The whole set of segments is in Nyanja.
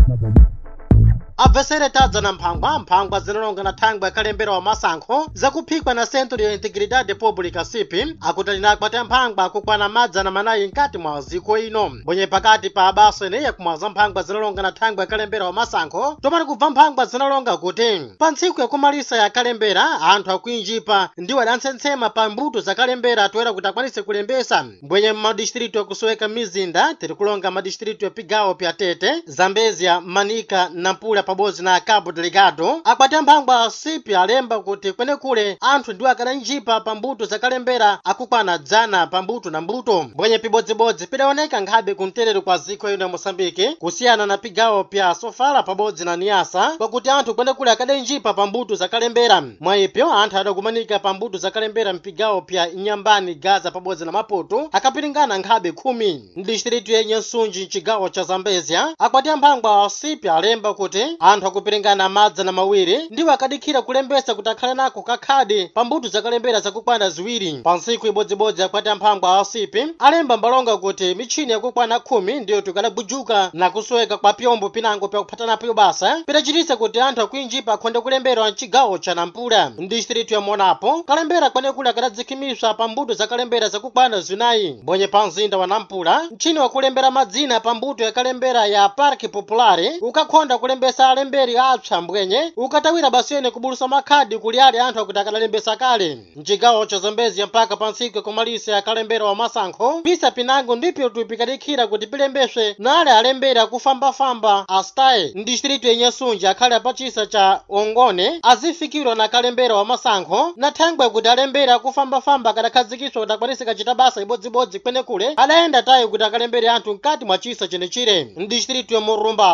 Abvesere tadza na mphangwa zinalonga na thangwe yakalembera wa masankho zakuphikwa na Centro ya Integridade Pública CIP akuti linakwata mphangwa akukwana madza na manayi nkati mwa ziko ino mbwenye pakati pa abaso ineyi kumwaza mphangwa zinalonga na thangwe yakalembera wa masankho tomati kubva mphangwa zinalonga kuti pa ntsiku yakumalisa yakalembera anthu akuinjipa ndiwo adantsensema pa mbuto zakalembera atoera kuti akwanise kulembesa mbwenye madistritu yakusoweka mizinda tiri kulonga madistritu ya Pigawo pya Tete, Zambezia, Manica, Nampula pabodzi na Cabo Delgado akwata mphangwa CIP alemba kuti kwenekule anthu ndiwo akadanjipa pa mbuto zakalembera akukwana dzana pa mbuto na mbuto mbwenye pibodzibodzi pidaoneka nkhabe kumterero kwa ziko ino ya Mosambike kusiyana na Pigawo pya Sofala pabodzi na Niasa pakuti anthu kwenekule akadanjipa pa mbuto zakalembera mwaipyo anthu adakumanika pa mbuto zakalembera mpigawo pya Inyambani, Gaza pabodzi na Maputo akapiringana nkhabe 10 mdistritu yenye Nsunji mchigawo cha Zambezia akwata mphangwa CIP alemba kuti anthu akupiringana madza na mawiri ndiwo akadikhira kulembesa kuti akhale nako kakhadi pa mbuto zakalembera zakukwana ziwiri pa ntsiku ibodzibodzi akwata mphangwa CIP alemba mbalonga kuti michini yakukwana 10 ndiyo tikadabujuka na kusoweka kwa pyombo pinango pya kuphatanapo basa pidachitisa kuti anthu akuinjipa akhonde kulembera mchigawo cha Nampula mdistritu ya Monapo kalembera kwenekule akadadzikhimisa pa mbuto zakalembera zakukwana zinayi mbwenye pa mzinda wa Nampula mchini wakulembera madzina pa mbuto yakalembera ya Parque Populare ukakhonda kulembesa alemberi apsa mbwenye ukatawira basene kubulusa makhadi kuli ali anthu akuti akadalembesa kale mchigawo cha Zambezia mpaka pa ntsiku yakumalisa yakalembera wa masankho pisa pinango ndipyo tupikadikhira kuti pilembeswe nale alemberi akufambafamba astaye mdistritu yenye Nsunji akhale apachisa cha Ongone azifikirwa na kalembera wa masankho na thangwe kuti alemberi akufambafamba akadakhazikiswa kuti akwanise kachita basa ibodzibodzi kwenekule adayenda tayi kuti akalembere anthu mkati mwa chisa chenechire mdistritu ya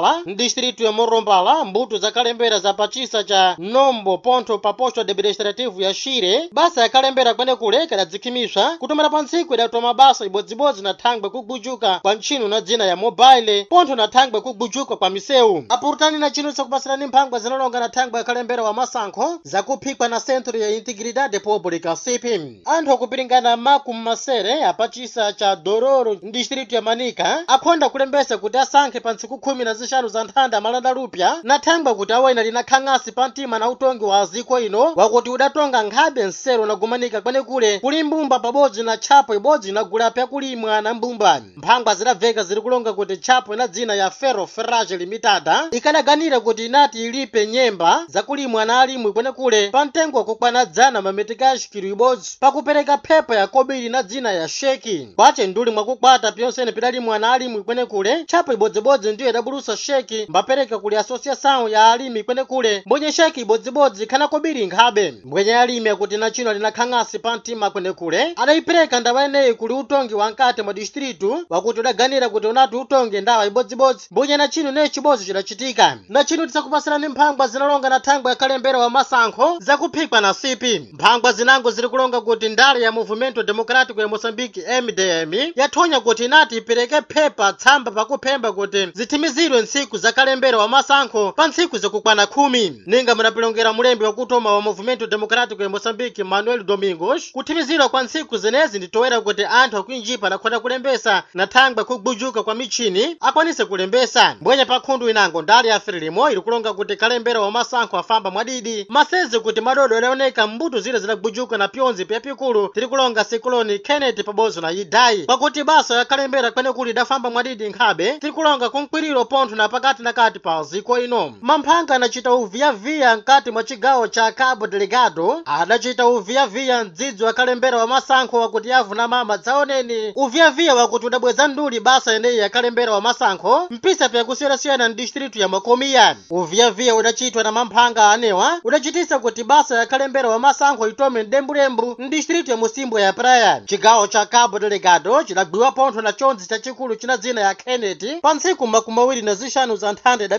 Morumbala mbuto zakalembera za pachisa cha Nombo Ponto pa posto administrativo ya Shire basa yakalembera kwenekule kadadzikhimiswa kutomera pa ntsiku idatoma basa ibodzibodzi na thangwe kubujuka kwa ntchino na dzina ya mobile ponto na thangwe kubujuka kwa misewu apurutani na chino chakupasirani mphangwa zinalonga na thangwe yakalembera wa masankho zakuphikwa na Centro ya Integridade Pública CIP anthu akupiringana makumi masere apachisa cha Dororo mdistritu ya Manica akhonda kulembesa kuti asankhe pa ntsiku 15 za nthanda malanda lupya na thangwe kuti awena linakhang'asi pa mtima na utongi wa ziko ino wakuti udatonga nkhabe nsero na kumanika kwenekule kuli mbumba pabodzi na tchapo ibodzi inagula pya kulimwa na mbumba mphangwa zidabveka ziri kulonga kuti tchapo ina dzina ya Ferro Ferrage Limitada ikadaganira kuti inati ilipe nyemba zakulimwa na alimwi kwenekule pa mtengo wakukwana dzana mametikashi kilo ibodzi pakupereka phepha ya kobiri na dzina ya sheki kwache nduli mwakukwata pyonsene pidalimwa na alimwi kwenekule tchapo ibodzibodzi ndiyo idabulusa sheki mbapereka kuli asociação ya alimi kwenekule mbwenye sheki ibodzibodzi khana kobiri nkhabe mbwenye alimi akuti na chino linakhang'asi pa mtima kwenekule adayipereka ndawa ineyi kuli utongi wa nkati mwa distritu wakuti udaganira kuti unati utonge ndawa ibodzibodzi mbwenye na chino neyi chibodzi chidachitika na chino tisakupasirani mphangwa zinalonga na thangwe yakalembera wa masankho zakuphikwa na CIP mphangwa zinango ziri kulonga kuti ndale ya Movimento Democrático ya Moçambique MDM yathonya kuti inati ipereke phepha tsamba pakuphemba kuti zithimizidwe ntsiku zakalembera wa masankho pa ntsiku zakukwana 10 ninga munapilongera mulembi wakutoma wa Movimento Democrático ya Moçambique Manuel Domingos kuthimizidwa kwa ntsiku zenezi nditowera kuti anthu akuinjipa nakhonda kulembesa na thangwe kubujuka kwa michini akwanise kulembesa mbwenye pa nkhundu inango ndale ya Frelimo ili kulonga kuti kalembera wa masankho afamba mwadidi masezi kuti madodo adaoneka mbuto zile zidabujuka na pyonzi pya pikulu tiri kulonga Sikoloni Kenneth pabodzi na Idai pakuti basa yakalembera kwenekuli idafamba mwadidi nkhabe tiri kulonga kumkwiriro pontho na pakati na kati pa ziko ino mamphanga anachita uviyaviya nkati mwa chigawo cha Cabo Delgado adachita uviyaviya mdzidzi wakalembera wa masankho wakuti yavuna mama dzaoneni uviyaviya wakuti udabweza nduli basa yeneyi yakalembera wa masankho mpisa pya kusiyana-siyana mdistritu ya Makomiya uviyaviya udachitwa na mamphanga anewa udachitisa kuti basa yakalembera wa masankho itome ndembulembu mdistritu ya Musimbo ya Praia chigawo cha Cabo Delgado chidagwiwa pontho na chonzi chachikulu china dzina ya Kenneth pa ntsiku 25 za nthanda idapita ire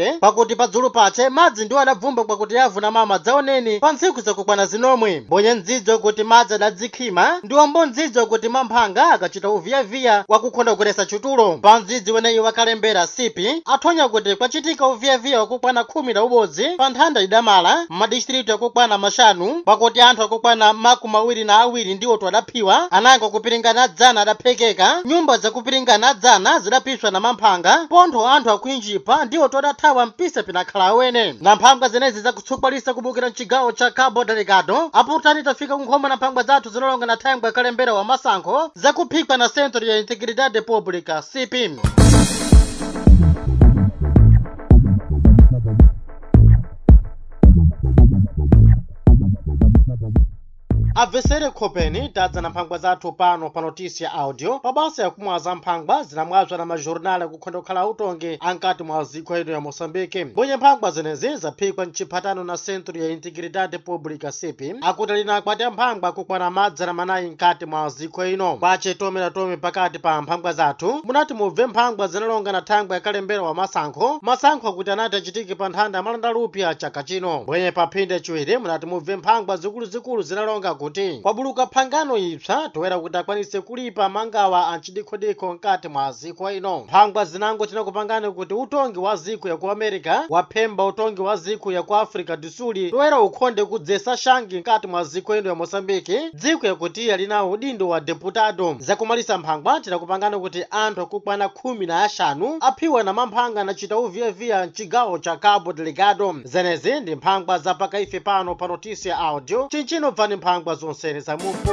Recife pakuti padzulu pache madzi ndiwo adabvumba kwakuti avuna mama dzaoneni pa ntsiku zakukwana zinomwe. Mbonye ndzidzo kuti madzi adadzikhima ndiwo mbondzidzo kuti mamphanga akachita uviyaviya wakukhonda kugwetesa chutulo. Pa ndzidzi weneyi wakalembera sipi athonya kuti kwachitika uviyaviya wakukwana 11 pa nthanda idamala m'madistritu yakukwana mashanu pakuti anthu akukwana 22 ndiwo adaphiwa, anango kupiringana dzana adaphekeka, nyumba zakupiringana dzana zidapiswa na mamphanga, pontho anthu akuinjipa ndiwo adathawa mpisa pinakhala awene. Na mphanga zenezi zakutsukbalisa kubukira mchigawo cha Cabo Delgado aputani tafika kunkhoma na mphanga zathu zinalonga na thangwe kalembera wa masankho zakuphikwa na Centro ya Integridade Pública CIP. Abvesere khopeni tadza na mphangwa zathu pano pa notícia audio pabasa ya kumwaza mphangwa zinamwazwa na majornal kukhonda kukhala utongi ankati mwa ziko ino ya Moçambique. Mbonye mphangwa zenezi zaphikwa mchiphatano na Centro ya Integridade Pública CIP akuti linakwati mphangwa kukwana madzana manayi nkati mwa ziko ino. Kwache tome pakati pa mphangwa zathu munati mubve mphangwa zinalonga na thangwe yakalembera wa masankho akuti anati achitike pa nthanda malanda lupya chaka chino. Mbonye pa phinde chiwiri munati mubve mphangwa zikuluzikulu zinalonga kuti kwabuluka phangano ipsa toera kuti akwanise kulipa mangawa anchidikhodikho nkati mwa ziko ino. Mphangwa zinango tinakupangani kuti utongi wa ziko ya ku America waphemba utongi wa ziko ya ku Africa do Sul toera ukhonde kudzesa shangi nkati mwa ziko ino ya Moçambique, dziko yakuti alinawo udindo wa deputado. Zakumalisa mphangwa tinakupangani kuti anthu akukwana 15 aphiwa na mamphanga anachita uviyaviya mchigawo cha Cabo Delgado. Zenezi ndi mphangwa zapakaife pano pa notícia audio chinchino bvani mphangwa zonsene za mufu.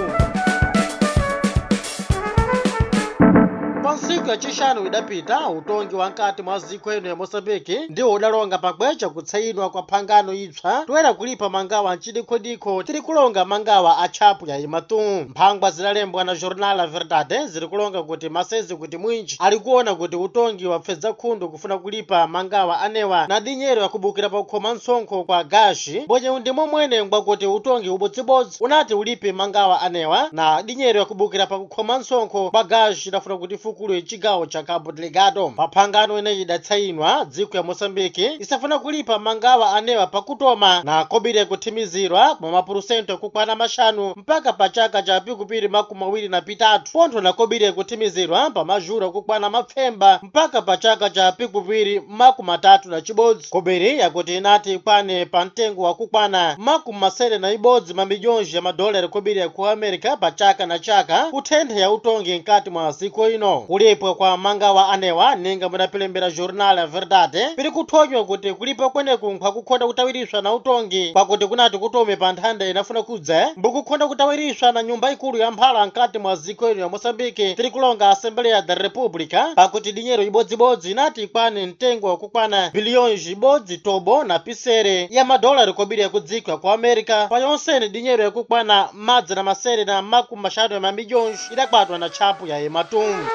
Pansiku ya chishanu idapita utongi wa nkati mwa ziko ino ya Moçambique ndiwo udalonga pabwecha kutsayinwa kwa phangano ipsa toera kulipa mangawa nchidikhodikho tiri kulonga mangawa a chapu ya imatu. Mphangwa zidalembwa na Jornal La Verdade ziri kulonga kuti masezi kuti mwinji ali kuona kuti utongi wapfedza khundu kufuna kulipa mangawa anewa na dinyero yakubukira pa kukhoma msonkho kwa gashi. Mbonye undimo mwene ngwa kuti utongi ubodzibodzi unati ulipe mangawa anewa na dinyero yakubukira pa kukhoma msonkho kwa gashi idafuna kuti kulu chigawo cha Cabo Delgado. Paphangano ineyi idatsayinwa dziko ya Moçambique isafuna kulipa mangawa anewa pakutoma na kobire kuthimizirwa kwa mapurusento kukwana mashanu mpaka pa chaka cha pikupiri 23 pontho na kobire kuthimizirwa pa majura kukwana mapfemba mpaka pa chaka cha pikupiri 31. Kobiri yakuti inati kwane pa mtengo wa kukwana 71 mamilhões ya madolari kobiri ya ku America pa chaka na chaka kuthenthe ya utongi nkati mwa ziko ino. Kulipo kwa mangawa anewa ninga mudapilembera Jornal La Verdade pili kuthonywa kuti kulipa kweneku nkhakukhonda kutawiriswa na utongi pakuti kunati kutome pa nthanda inafuna kudza mbukukhonda kutawiriswa na nyumba ikulu ya mphala nkati mwa ziko ino ya Moçambique tiri kulonga Assembleia da República pakuti dinyero ibodzibodzi inati ikwane mtengo wakukwana bilhões ibodzi tobo na pisere ya madolari kobiri ya kudziko ya ku America payonsene dinyero yakukwana madzi na masere na makumashanu ya mamilhões idakwatwa na chapu ya ematum.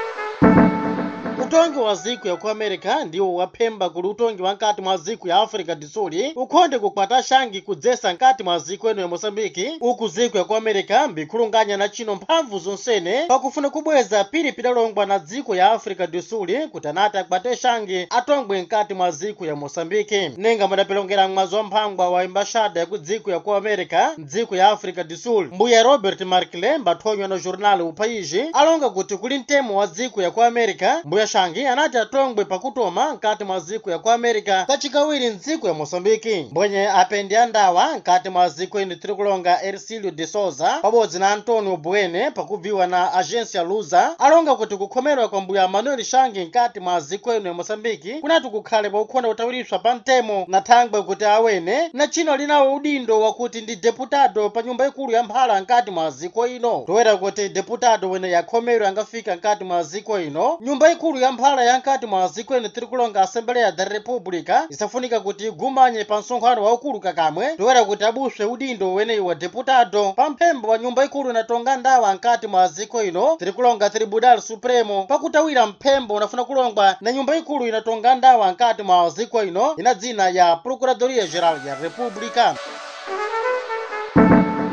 Utongi wa ziko ya ku America ndiwo waphemba kuli utongi wa nkati mwa ziko ya Africa do Sul ukhonde kukwata shangi kudzesa nkati mwa ziko ino ya Moçambique uku ziko ya ku America mbikhulunganya na chino mphamvu zonsene pakufuna kubweza pili pidalongwa na ziko ya Africa do Sul kuti anati akwate shangi atongwe nkati mwa ziko ya Moçambique. Nenga mudapilongera mwazo mphangwa wa embashada ya ku ziko ya ku America mdziko ya Africa do Sul mbuya Robert Markle mbathonywa na Jornal O País alonga kuti kuli mtemo wa ziko ya ku America mbuya shangi anati atongwe pakutoma nkati mwa ziko ya ku America kachikawiri mdziko ya Moçambique. Mbonye apendi andawa nkati mwa ziko ino tiri kulonga Ercílio de Souza pabodzi na Antônio Bueno pakubviwa na Agência Lusa alonga kuti kukhomerwa kwa mbuya Manuel Shangi nkati mwa ziko ino ya Moçambique kunati kukhale paukhonda kutawiriswa pa mtemo na thangwe kuti awene na chino linawo udindo wakuti ndi deputado pa nyumba ikulu ya mphala nkati mwa ziko ino toera kuti deputado wene yakhomerwa angafika nkati mwa ziko ino. Nyumba ikulu ya mphala yankati mwa ziko ino tiri kulonga Assembleia da República isafunika kuti igumanye pa msonkhano waukulu kakamwe toera kuti abuswe udindo weneyi wa deputado pa mphembo wa nyumba ikulu inatonga ndawa nkati mwa ziko ino tiri kulonga Tribunal Supremo pakutawira mphembo unafuna kulongwa na nyumba ikulu inatonga ndawa nkati mwa ziko ino ina dzina ya Procuradoria Geral ya República.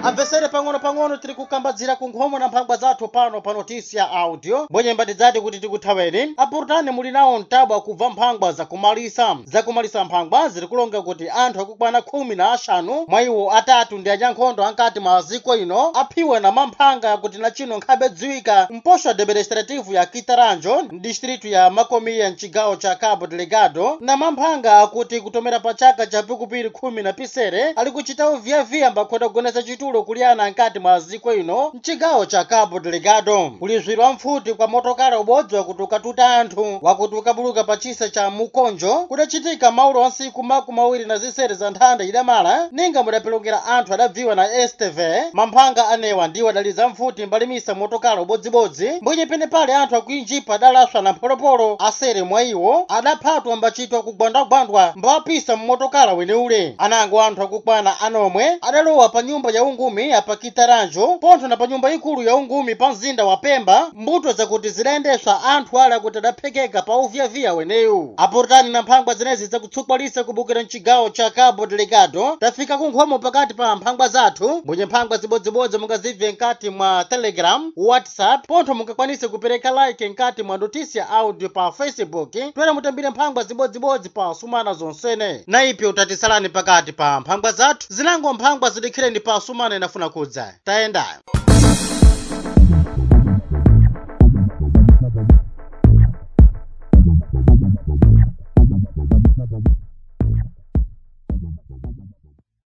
Abvesere pang'ono tiri kukambadzira ku nkhomo na mphangwa zathu pano pa notisi ya audio mbwenye mbatidzati kuti tikuthaweni apurutani muli nawo mtabwa kubva mphangwa zakumalisa mphangwa ziri kulonga kuti anthu akukwana 15 mwa iwo atatu ndi anyankhondo ankati mwa ziko ino aphiwe na mamphanga kuti na chino nkhabe dziwika mposho administrativu ya Kitaranjo distritu ya Makomiya mchigawo cha Cabo Delgado na mamphanga akuti kutomera pa chaka cha pikupiri 10 na pisere ali kuchita uviyaviya mbakhoda kugoneza chitulo kuli ana ankati mwa ziko ino mchigawo cha Cabo Delgado kulizwirwa mfuti kwa motokala ubodzi wakuti ukatuta anthu wakuti ukabuluka pa chisa cha Mukonjo kudachitika maulo wa nsiku makumi awiri na zisere za nthanda idamala ninga mudapelongera anthu adabviwa na STV mamphanga anewa ndiwo adaliza mfuti mbalimisa motokala ubodzibodzi mbwenye pene pale anthu akuinjipa adalaswa na mpolopolo asere mwa iwo adaphatwa mbachitwa kugwandagwandwa mbawapisa mmotokala weneule anango anthu akukwana anomwe adalowa pa nyumba ya ungumi apa Kitaranjo pontho na pa nyumba ikulu ya ungumi pa mzinda wa Pemba mbuto zakuti zidayendeswa anthu ala kuti adaphekeka pa uviyaviya weneyu apurutani na mphangwa zinezi zakutsukwalisa kubukira mchigawo cha Cabo Delgado tafika kunkhomo pakati pa mphangwa zathu mbwenye mphangwa zibodzibodzi mungazibve nkati mwa Telegram, WhatsApp pontho mungakwanise kupereka like nkati mwa notisi ya audio pa Facebook twere mutambire mphangwa zibodzibodzi pa sumana zonsene na ipyo utatisalani pakati pa mphangwa zathu zinango mphangwa zidikhireni pa sumana inafuna kudza tayenda